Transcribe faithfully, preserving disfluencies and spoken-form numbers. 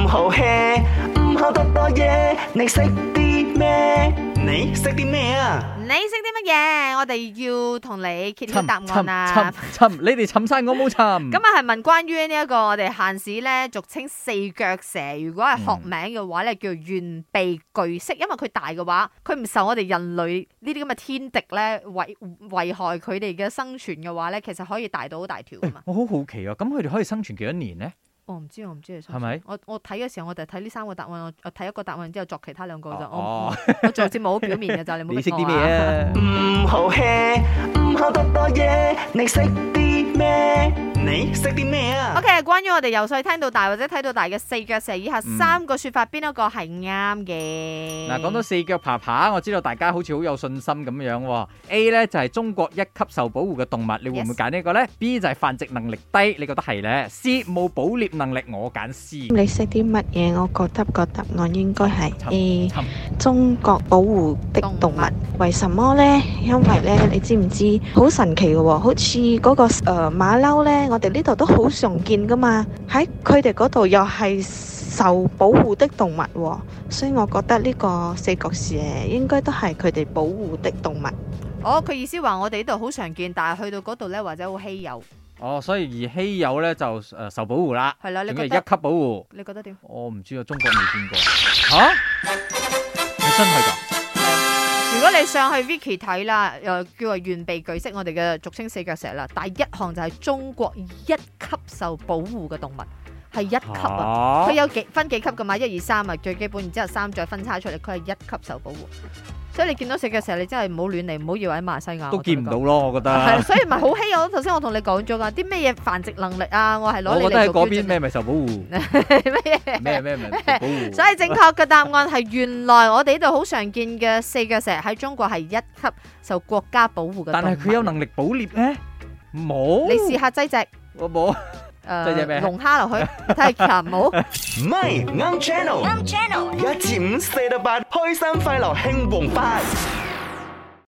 唔好 hea， 唔好多多嘢，你識啲咩？你識啲咩啊？ 你識啲乜嘢？我哋要同你揭曉答案啊！ 尋尋，你哋尋晒我冇尋。 咁啊係問關於呢一個我哋閒時咧，俗稱四腳蛇。如果係學名嘅話咧，叫圓鼻巨蜥，因為佢大嘅話，佢唔受我哋人類呢啲咁嘅天敵咧危危害佢哋嘅生存嘅話咧，其實可以大到好大條噶嘛。 我好好奇啊，咁佢哋可以生存幾多年呢？ 我唔知，我唔知係咪？ 我我睇嘅時候，我就睇呢三個答案，我我睇一個答案之後作其他兩個就。 哦， 我做節目好表面嘅咋，你冇。 你識啲咩啊？ 唔好 hea， 唔好多多嘢，你識啲咩？你識啲咩啊 ？OK， 關於我哋由細聽到大或者睇到大嘅四腳蛇，以下三個說法，邊一個係啱嘅？ 嗱，講到四腳爬爬，我知道大家好似好有信心咁樣。A 咧就係中國一級受保護嘅動物，你會唔會揀呢個咧 ？B 就係繁殖能力低，你覺得係咧 ？C 冇捕獵能力，我揀 C。 你識啲乜嘢？我覺得個答案應該係 A， 中國保護的動物。為什麼呢？因為咧，你知唔知好神奇嘅喎？好似嗰個誒馬騮咧，我哋呢度都好常見噶嘛。喺佢哋嗰度又係受保護的動物喎，所以我覺得呢個四腳蛇應該都係佢哋保護的動物。 哦，佢意思話我哋呢度好常見，但係去到嗰度咧或者好稀有。 哦，所以而稀有咧就誒受保護啦。 係啦，你覺得一級保護？ 你覺得點？ 我唔知啊，中國未見過。吓？你真係㗎？ 如果你上去 Wiki 睇啦，又叫做圓鼻巨蜥，我哋嘅俗稱四腳蛇啦。第一項就係中國一級受保護嘅動物，係一級啊！佢有幾分幾級噶嘛？一二三啊，最基本，然之後三再分叉出嚟，佢係一級受保護。所以你見到四腳蛇，你真係唔好亂嚟，唔好以為喺馬來西亞都見唔到咯，我覺得。 係，所以咪好稀有。頭先我同你講咗噶，啲咩嘢繁殖能力啊，我係攞你嚟做標準。 我覺得喺嗰邊咩咪受保護？ 咩咩咩咪保護？ 所以正確嘅答案係原來我哋呢度好常見嘅四腳蛇喺中國係一級受國家保護嘅。 但係佢有能力捕獵咩？冇。 你試下擠隻。 我冇。 誒，龍蝦落去睇下冇。 唔係啱 channel，啱 channel，一至五四到八，開心快樂興旺發。